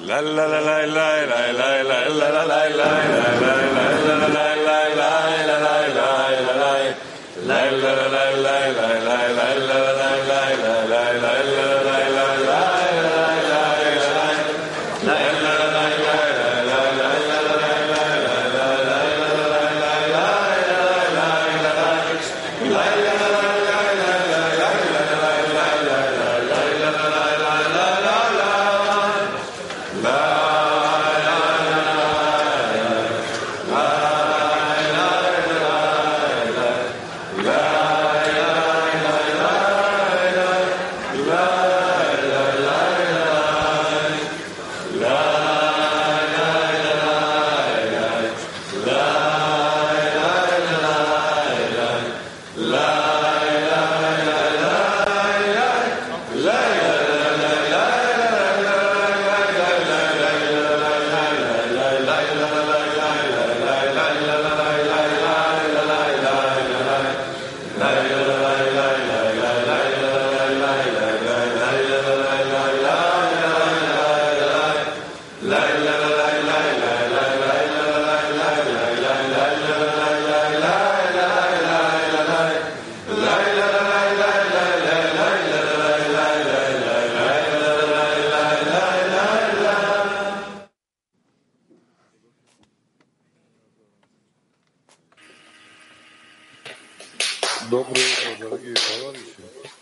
Доброе утро, дорогие товарищи.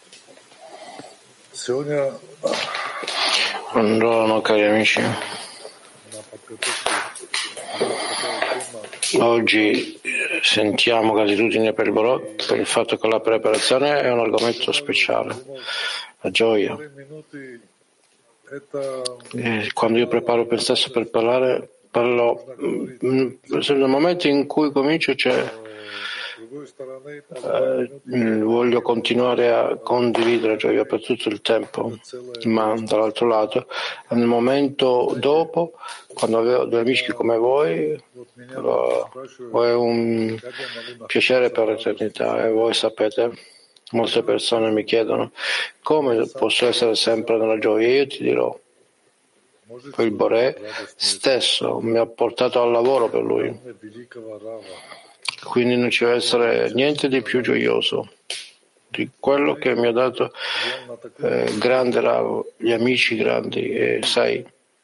Сегодня Buongiorno cari amici, на подготовке у нас такая тема. oggi sentiamo gratitudine per il Borò per il fatto che la preparazione è un argomento speciale, la gioia. Минуты это E quando io preparo per stesso per parlare, parlo nel momento in cui comincio с другой стороны voglio continuare a condividere gioia per tutto il tempo, ma dall'altro lato, nel momento dopo, quando avevo due amici come voi, è un piacere per l'eternità e voi sapete, molte persone mi chiedono come posso essere sempre nella gioia. Io ti dirò, il Boré stesso mi ha portato al lavoro per lui. Quindi non ci deve essere niente di più gioioso di quello che mi ha dato grande Rav, gli amici grandi, e sai,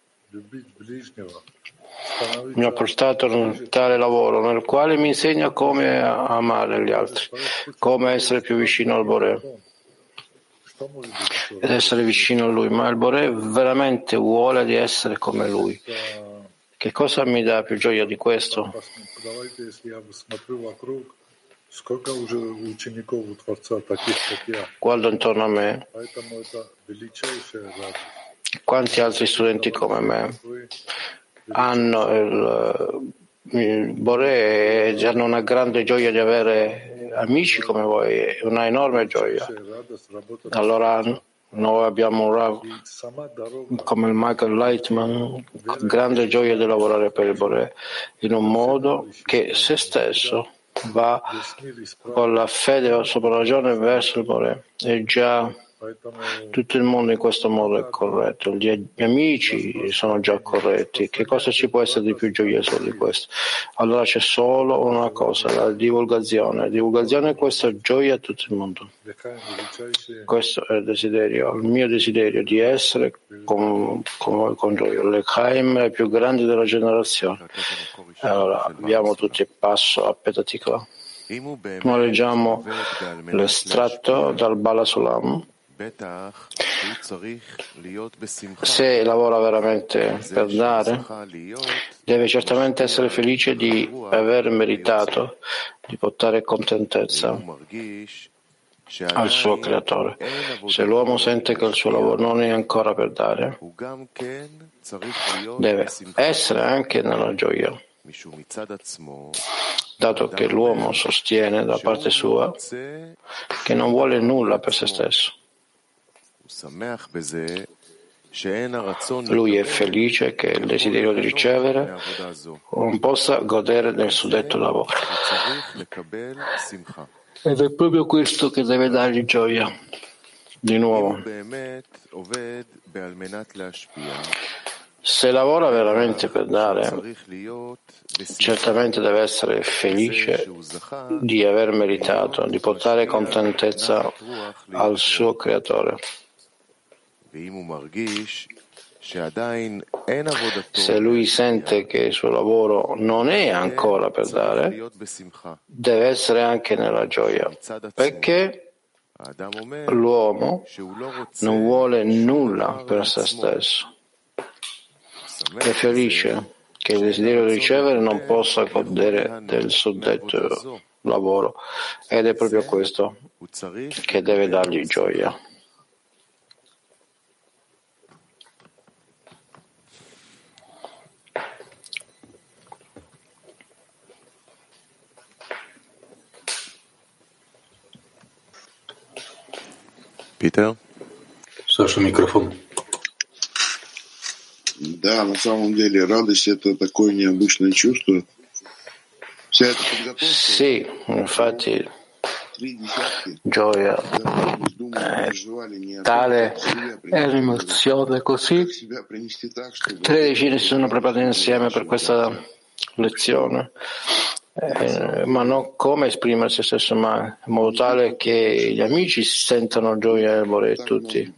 mi ha portato in tale lavoro nel quale mi insegna come amare gli altri, come essere più vicino al Boré ed essere vicino a lui, ma il Boré veramente vuole di essere come lui. Che cosa mi dà più gioia di questo? Guardo intorno a me, quanti altri studenti come me hanno il Boré e hanno una grande gioia di avere amici come voi, una enorme gioia. Allora noi abbiamo un Rav come il Michael Lightman, con grande gioia di lavorare per il Boré in un modo che se stesso va con la fede sopra ragione verso il Boré, e già tutto il mondo in questo modo è corretto, gli amici sono già corretti. Che cosa ci può essere di più gioioso di questo? Allora c'è solo una cosa, la divulgazione. Divulgazione, questa gioia a tutto il mondo. Questo è il desiderio, il mio desiderio di essere con gioia. L'Echaim è il più grande della generazione. Allora abbiamo tutti il passo a Petatikva. Noi leggiamo l'estratto dal Bala Sulam. Se lavora veramente per dare, deve certamente essere felice di aver meritato di portare contentezza al suo creatore. Se l'uomo sente che il suo lavoro non è ancora per dare, deve essere anche nella gioia, dato che l'uomo sostiene da parte sua che non vuole nulla per se stesso. Lui è felice che il desiderio di ricevere non possa godere del suddetto lavoro. Ed è proprio questo che deve dargli gioia. Di nuovo, Se lavora veramente per dare, certamente deve essere felice di aver meritato, di portare contentezza al suo creatore. Se lui sente che il suo lavoro non è ancora per dare, deve essere anche nella gioia, perché l'uomo non vuole nulla per se stesso. È felice che il desiderio di ricevere non possa godere del suddetto lavoro, ed è proprio questo che deve dargli gioia. Peter? Саша, микрофон. Да, на самом деле радость — это такое необычное чувство. Вся эта подготовка. Sì, infatti gioia tale è l'emozione così. 13 si sono preparati insieme per questa lezione, ma non come esprimere se stesso, ma in modo tale che gli amici sentano gioia nel volere tutti.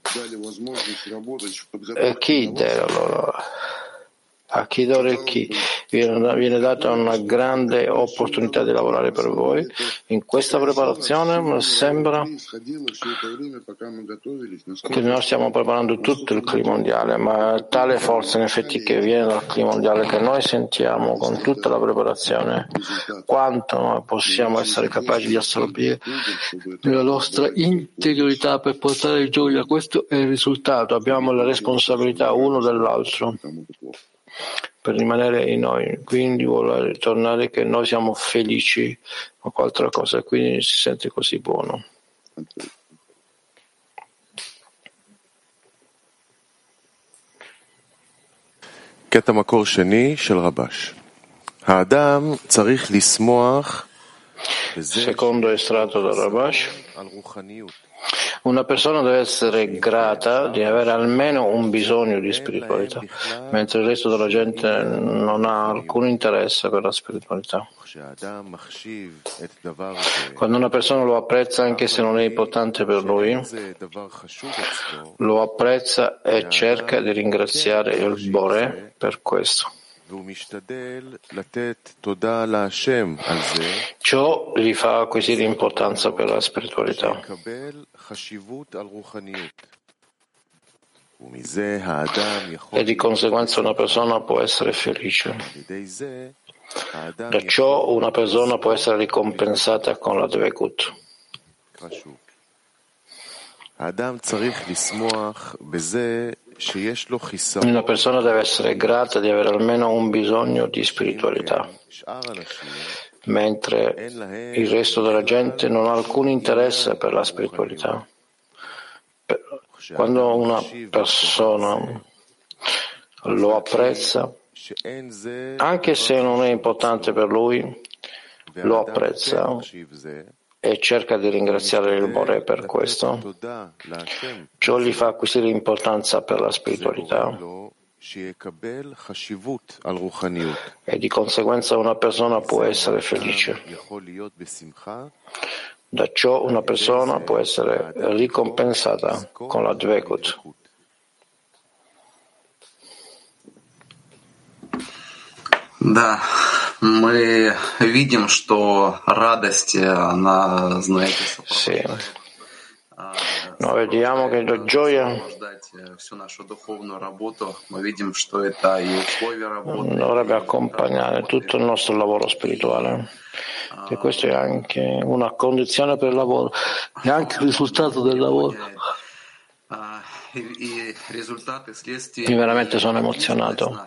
E chi deve allora? A chi dare chi? Viene data una grande opportunità di lavorare per voi. In questa preparazione sembra che noi stiamo preparando tutto il clima mondiale, ma tale forza in effetti che viene dal clima mondiale che noi sentiamo con tutta la preparazione, quanto noi possiamo essere capaci di assorbire nella nostra integrità per portare gioia. Questo è il risultato. Abbiamo la responsabilità uno dell'altro per rimanere in noi, quindi vuole tornare che noi siamo felici o altra cosa, quindi si sente così buono. קטע מקור שני של רבש. האדם צריך לשמוח. Secondo estratto da Rabash, una persona deve essere grata di avere almeno un bisogno di spiritualità, mentre il resto della gente non ha alcun interesse per la spiritualità. Quando una persona lo apprezza anche se non è importante per lui, lo apprezza e cerca di ringraziare il Bore per questo. Ciò gli fa acquisire importanza per la spiritualità e di conseguenza una persona può essere felice. Da ciò una persona può essere ricompensata con la Dvekut. Una persona deve essere grata di avere almeno un bisogno di spiritualità, mentre il resto della gente non ha alcun interesse per la spiritualità. Quando una persona lo apprezza, anche se non è importante per lui, lo apprezza e cerca di ringraziare il Bore per questo. Ciò gli fa acquisire importanza per la spiritualità e di conseguenza una persona può essere felice. Da ciò una persona può essere ricompensata con la Dvekut. Да, мы видим, что радость, она, знаете, сопровождает. Noi vediamo che la gioia dovrebbe accompagnare tutto il nostro lavoro spirituale, e questo è anche una condizione per il lavoro, è anche il risultato del lavoro. Io veramente sono emozionato,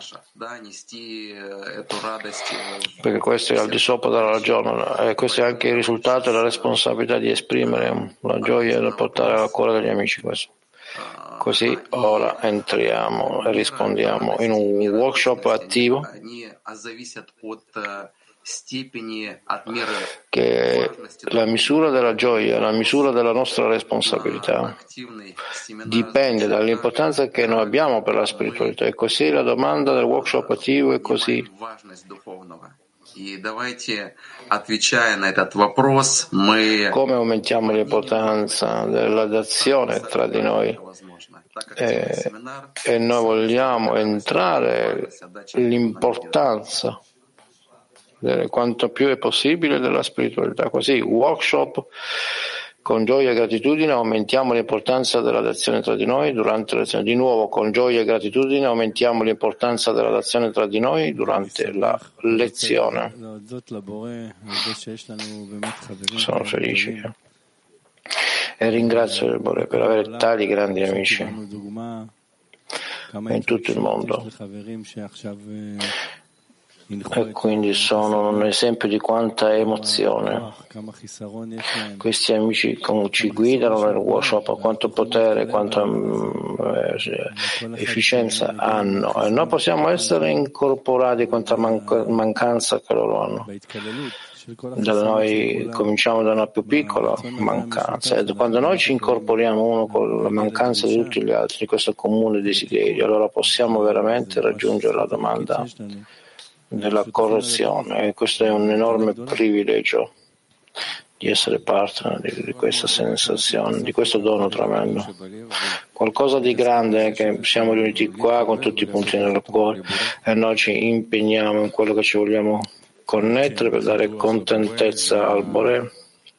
perché questo è al di sopra della ragione e questo è anche il risultato e la responsabilità di esprimere la gioia e da portare al cuore degli amici questo. Così ora entriamo e rispondiamo in un workshop attivo che la misura della gioia, la misura della nostra responsabilità dipende dall'importanza che noi abbiamo per la spiritualità. E così la domanda del workshop attivo è così. Come aumentiamo l'importanza della dazione tra di noi? E noi vogliamo entrare l'importanza quanto più è possibile della spiritualità. Così, workshop con gioia e gratitudine aumentiamo l'importanza della dazione tra di noi durante la lezione. Di nuovo, con gioia e gratitudine aumentiamo l'importanza della dazione tra di noi durante la lezione. Sono felice e ringrazio il Bore per avere tali grandi amici in tutto il mondo. E quindi sono un esempio di quanta emozione questi amici ci guidano nel workshop, quanto potere, quanta efficienza hanno, e noi possiamo essere incorporati quanta mancanza che loro hanno. Da noi cominciamo da una più piccola mancanza, e quando noi ci incorporiamo uno con la mancanza di tutti gli altri, di questo comune desiderio, allora possiamo veramente raggiungere la domanda della correzione, e questo è un enorme privilegio di essere parte di questa sensazione, di questo dono tremendo, qualcosa di grande, che siamo riuniti qua con tutti i punti nel cuore e noi ci impegniamo in quello che ci vogliamo connettere per dare contentezza al Bore.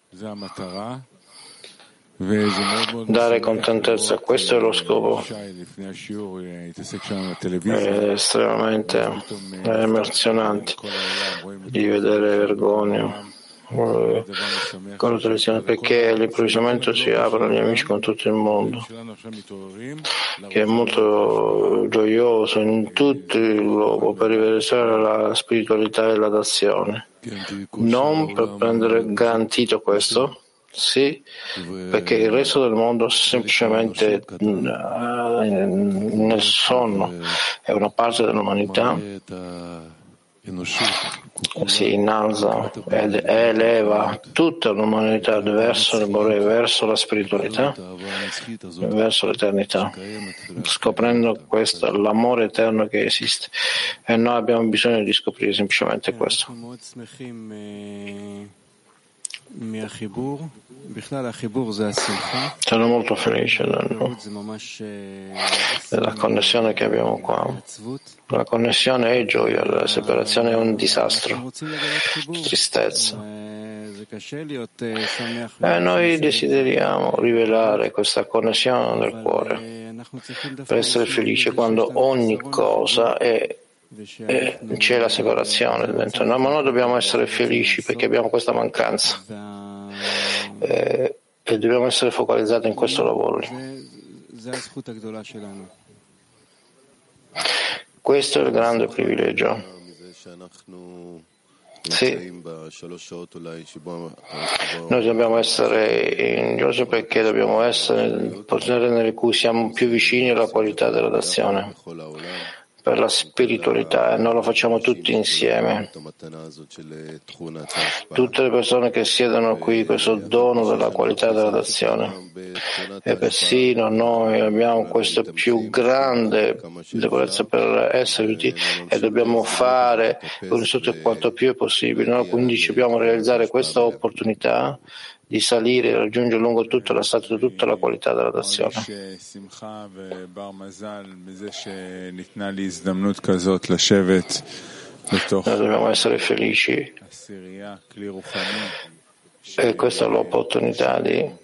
Dare contentezza, questo è lo scopo. È estremamente emozionante di vedere vergogna con la televisione, perché all'improvvisamente si aprono gli amici con tutto il mondo, che è molto gioioso in tutto il globo per riversare la spiritualità e la dazione, non per prendere garantito questo. Sì, perché il resto del mondo semplicemente nel sonno è una parte dell'umanità, si innalza ed eleva tutta l'umanità verso il Bore, verso la spiritualità, verso l'eternità, scoprendo questo, l'amore eterno che esiste, e noi abbiamo bisogno di scoprire semplicemente questo. Sono molto felice della connessione che abbiamo qua. La connessione è gioia, la separazione è un disastro, tristezza. E noi desideriamo rivelare questa connessione del cuore per essere felici quando ogni cosa c'è la separazione dentro noi, ma noi dobbiamo essere felici perché abbiamo questa mancanza e dobbiamo essere focalizzati in questo lavoro. Questo è il grande privilegio. Sì, noi dobbiamo essere ingiosi perché dobbiamo essere nel potere in cui siamo più vicini alla qualità della dazione per la spiritualità, e noi lo facciamo tutti insieme. Tutte le persone che siedono qui, questo dono della qualità della dazione, e persino noi abbiamo questa più grande debolezza per essere utili, e dobbiamo fare quanto più è possibile. Noi quindi dobbiamo realizzare questa opportunità di salire e raggiungere lungo tutta la strada tutta la qualità della dazione. Noi dobbiamo essere felici, e questa è l'opportunità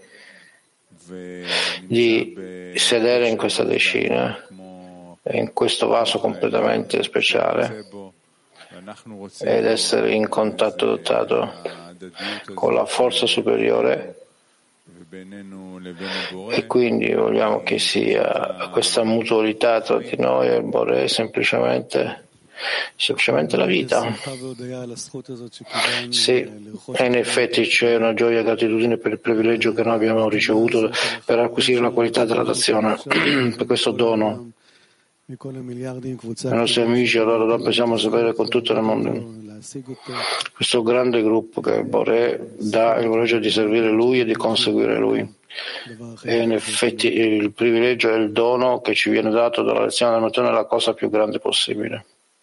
di sedere in questa decina, in questo vaso completamente speciale, ed essere in contatto dotato con la forza superiore, e quindi vogliamo che sia questa mutualità tra di noi e il Bore semplicemente la vita. Sì, e in effetti c'è una gioia e gratitudine per il privilegio che noi abbiamo ricevuto per acquisire la qualità della dazione, per questo dono. I nostri amici allora lo possiamo sapere con tutto il mondo. questo grande gruppo che Boré dà il privilegio di servire Lui e di conseguire Lui. E in effetti il privilegio e il dono che ci viene dato dalla lezione della mattino è la cosa più grande possibile.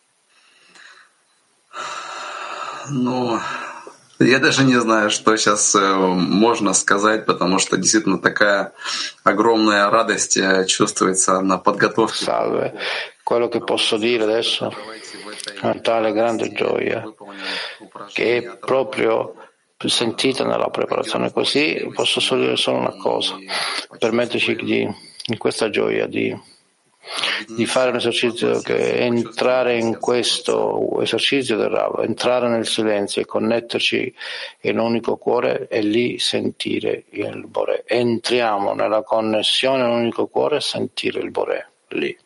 Ну, я даже не знаю, что сейчас можно сказать, потому что действительно такая огромная радость чувствуется на подготовке. Salve. Quello che posso dire adesso è una tale grande gioia che è proprio sentita nella preparazione. Così posso solo dire solo una cosa: permetterci in questa gioia di fare un esercizio che è entrare in questo esercizio del Rav, entrare nel silenzio e connetterci in un unico cuore e lì sentire il Boré. Entriamo nella connessione in un unico cuore e sentire il Boré lì.